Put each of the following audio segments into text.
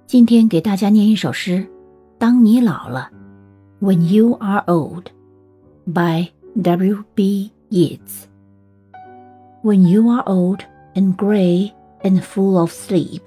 今天给大家念一首诗，当你老了 When You Are Old by W.B. Yeats. When you are old and grey and full of sleep,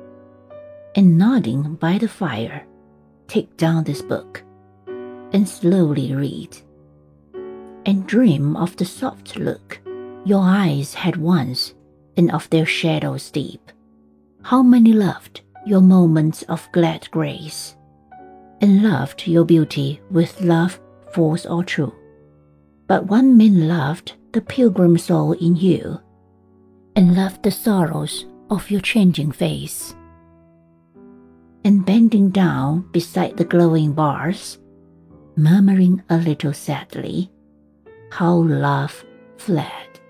and nodding by the fire, take down this book and slowly read, and dream of the soft look your eyes had once and of their shadows deep. How many loved your moments of glad grace, and loved your beauty with love false or true. But one man loved the pilgrim soul in you, and loved the sorrows of your changing face. And bending down beside the glowing bars, murmuring a little sadly, how love fled,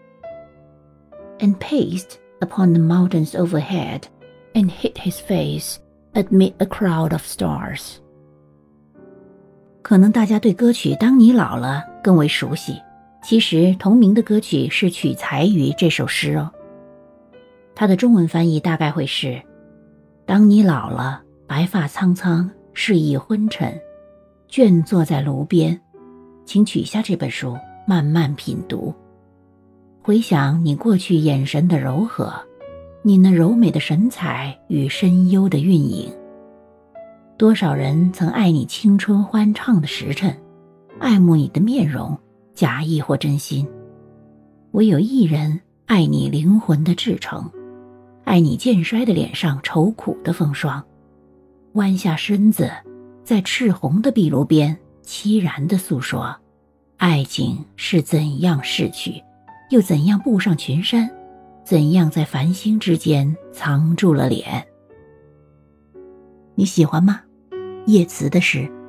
and paced upon the mountains overhead, and hid his face amid a crowd of stars. 可能大家对歌曲《当你老了》更为熟悉，其实同名的歌曲是取材于这首诗哦。它的中文翻译大概会是：当你老了，白发苍苍，适意昏沉，倦坐在炉边，请取下这本书，慢慢品读，回想你过去眼神的柔和，你那柔美的神采与深幽的韵影。多少人曾爱你青春欢畅的时辰，爱慕你的面容，假意或真心。唯有一人爱你灵魂的至诚，爱你渐衰的脸上愁苦的风霜，弯下身子，在赤红的壁炉边凄然地诉说，爱情是怎样逝去，又怎样步上群山，怎样在繁星之间藏住了脸。你喜欢吗？叶慈的诗。